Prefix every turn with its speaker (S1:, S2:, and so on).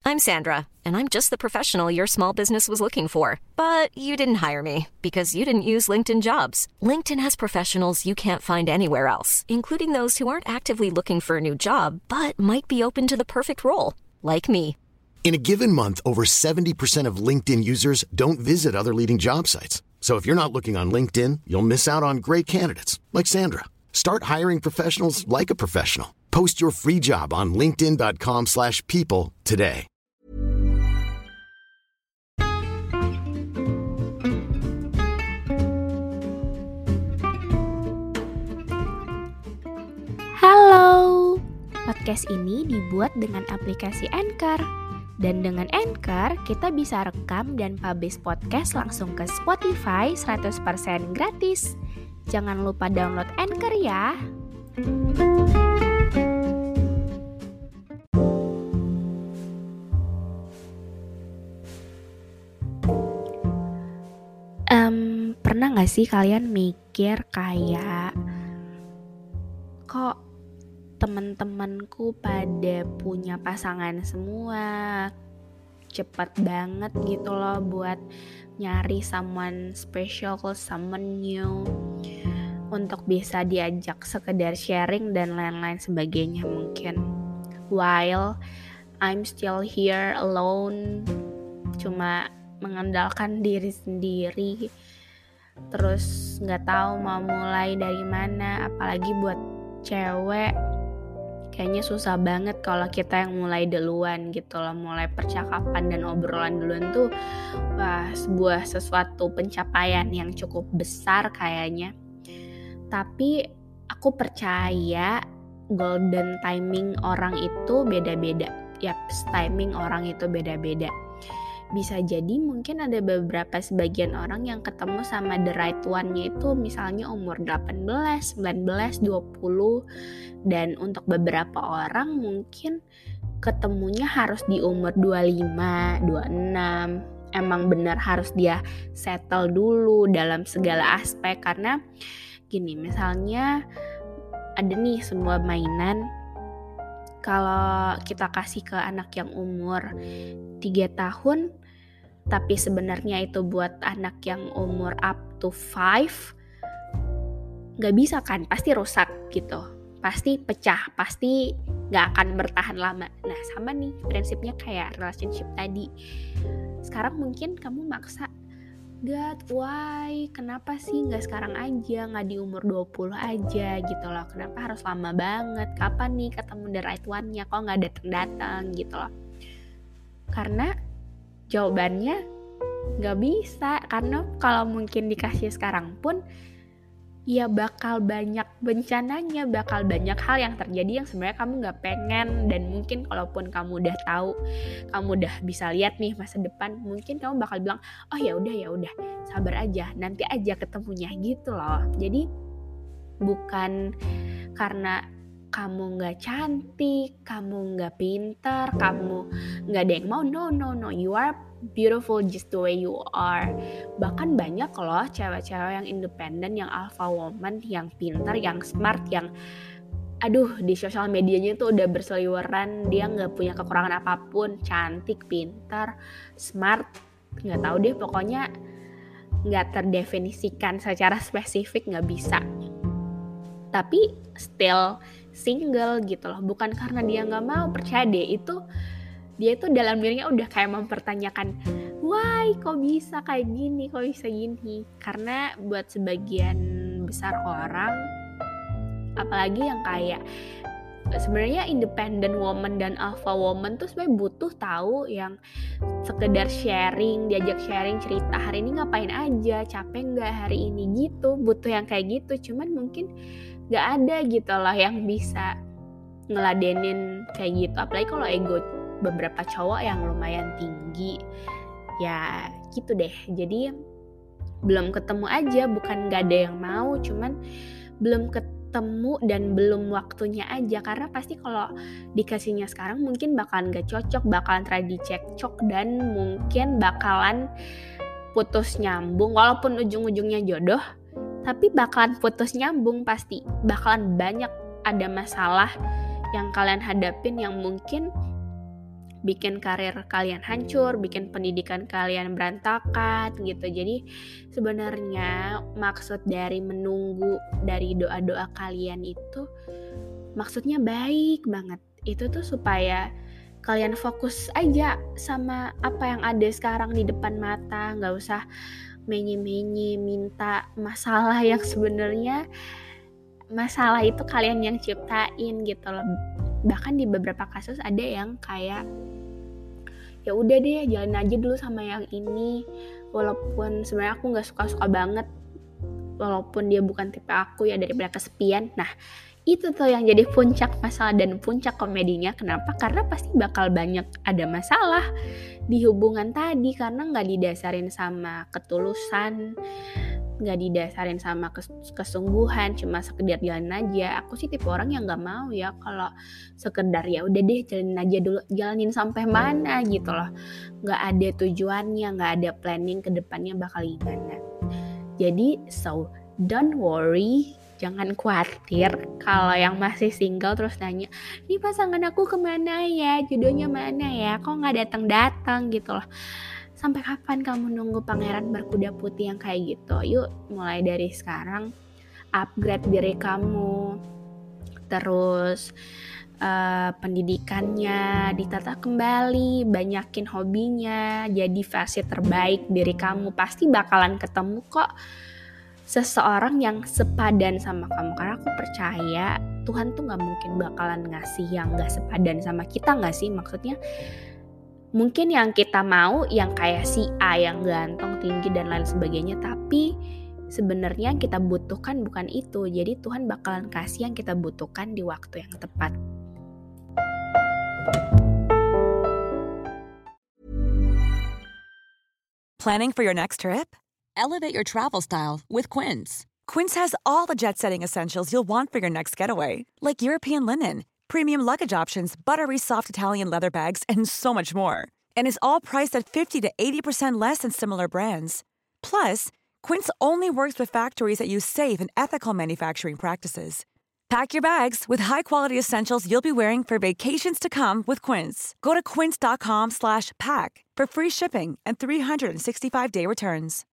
S1: I'm Sandra, and I'm just the professional your small business was looking for. But you didn't hire me because you didn't use LinkedIn Jobs. LinkedIn has professionals you can't find anywhere else, including those who aren't actively looking for a new job, but might be open to the perfect role, like me.
S2: In a given month, over 70% of LinkedIn users don't visit other leading job sites. So if you're not looking on LinkedIn, you'll miss out on great candidates like Sandra. Start hiring professionals like a professional. Post your free job on linkedin.com/people today.
S3: Halo, podcast ini dibuat dengan aplikasi Anchor. Dan dengan Anchor, kita bisa rekam dan publish podcast langsung ke Spotify 100% gratis. Jangan lupa download Anchor ya. Pernah gak sih kalian mikir kayak, kok teman-temanku pada punya pasangan semua, cepet banget gitu loh buat nyari someone special, someone new, untuk bisa diajak sekedar sharing dan lain-lain sebagainya mungkin. While I'm still here alone, cuma mengandalkan diri sendiri, terus gak tahu mau mulai dari mana. Apalagi buat cewek, kayaknya susah banget kalau kita yang mulai duluan gitu loh. Mulai percakapan dan obrolan duluan tuh sebuah sesuatu pencapaian yang cukup besar kayaknya. Tapi aku percaya golden timing orang itu beda-beda. Timing orang itu beda-beda. Bisa jadi mungkin ada beberapa sebagian orang yang ketemu sama the right one-nya itu misalnya umur 18, 19, 20. Dan untuk beberapa orang mungkin ketemunya harus di umur 25, 26. Emang benar harus dia settle dulu dalam segala aspek. Karena gini, misalnya ada nih sebuah mainan, kalau kita kasih ke anak yang umur 3 tahun, tapi sebenarnya itu buat anak yang umur up to 5, gak bisa kan, pasti rusak gitu, pasti pecah, pasti gak akan bertahan lama. Nah sama nih prinsipnya kayak relationship tadi. Sekarang mungkin kamu maksa, God, why? Kenapa sih gak sekarang aja, gak di umur 20 aja gitu loh. Kenapa harus lama banget? Kapan nih ketemu the right one-nya? Kok gak datang-datang gitu loh. Karena jawabannya gak bisa. Karena kalau mungkin dikasih sekarang pun, ya bakal banyak bencananya, bakal banyak hal yang terjadi yang sebenarnya kamu gak pengen. Dan mungkin kalaupun kamu udah tahu, kamu udah bisa lihat nih masa depan, mungkin kamu bakal bilang, oh ya udah, sabar aja, nanti aja ketemunya gitu loh. Jadi bukan karena kamu gak cantik, kamu gak pintar, kamu gak ada yang mau. No, you are beautiful just the way you are. Bahkan banyak loh cewek-cewek yang independen, yang alpha woman, yang pintar, yang smart, yang di sosial medianya tuh udah berseliweran, dia gak punya kekurangan apapun, cantik, pintar, smart, gak tahu deh, pokoknya gak terdefinisikan secara spesifik, gak bisa. Tapi still single gitu loh. Bukan karena dia gak mau, percaya deh, dia itu dalam dirinya udah kayak mempertanyakan, why kok bisa kayak gini, kok bisa gini. Karena buat sebagian besar orang, apalagi yang kayak sebenarnya independent woman dan alpha woman tuh sebenarnya butuh tahu yang sekedar sharing, diajak sharing cerita, hari ini ngapain aja, capek nggak hari ini gitu, butuh yang kayak gitu. Cuman mungkin nggak ada gitu loh yang bisa ngeladenin kayak gitu. Apalagi kalau ego beberapa cowok yang lumayan tinggi, ya gitu deh. Jadi belum ketemu aja, bukan nggak ada yang mau, cuman belum ketemu dan belum waktunya aja. Karena pasti kalau dikasihnya sekarang mungkin bakalan gak cocok, bakalan terjadi cekcok, dan mungkin bakalan putus nyambung. Walaupun ujung-ujungnya jodoh, tapi bakalan putus nyambung pasti. Bakalan banyak ada masalah yang kalian hadapin yang mungkin bikin karir kalian hancur, bikin pendidikan kalian berantakan gitu. Jadi sebenarnya maksud dari menunggu dari doa-doa kalian itu maksudnya baik banget. Itu tuh supaya kalian fokus aja sama apa yang ada sekarang di depan mata, nggak usah menye-menye minta masalah yang sebenarnya masalah itu kalian yang ciptain gitu loh. Bahkan di beberapa kasus ada yang kayak ya udah deh jalan aja dulu sama yang ini, walaupun sebenarnya aku nggak suka-suka banget, walaupun dia bukan tipe aku ya, daripada kesepian. Nah itu tuh yang jadi puncak masalah dan puncak komedinya. Kenapa? Karena pasti bakal banyak ada masalah di hubungan tadi, karena nggak didasarin sama ketulusan, nggak didasarin sama kesungguhan, cuma sekedar jalan aja. Aku sih tipe orang yang nggak mau ya kalau sekedar ya udah deh jalanin aja dulu, jalanin sampai mana gitu loh, nggak ada tujuannya, nggak ada planning ke depannya bakal gimana. Jadi so don't worry, jangan khawatir kalau yang masih single terus nanya, ini pasangan aku kemana ya, jodohnya mana ya, kok nggak datang gitu loh. Sampai kapan kamu nunggu pangeran berkuda putih yang kayak gitu? Yuk mulai dari sekarang upgrade diri kamu, terus pendidikannya ditata kembali, banyakin hobinya, jadi versi terbaik diri kamu. Pasti bakalan ketemu kok seseorang yang sepadan sama kamu, karena aku percaya Tuhan tuh gak mungkin bakalan ngasih yang gak sepadan sama kita, gak sih? Maksudnya mungkin yang kita mau yang kayak si A yang ganteng, tinggi dan lain sebagainya, tapi sebenarnya yang kita butuhkan bukan itu. Jadi Tuhan bakalan kasih yang kita butuhkan di waktu yang tepat.
S4: Planning for your next trip? Elevate your travel style with Quince. Quince has all the jet-setting essentials you'll want for your next getaway, like European linen, premium luggage options, buttery soft Italian leather bags, and so much more. And is all priced at 50 to 80% less than similar brands. Plus, Quince only works with factories that use safe and ethical manufacturing practices. Pack your bags with high-quality essentials you'll be wearing for vacations to come with Quince. Go to quince.com/pack for free shipping and 365-day returns.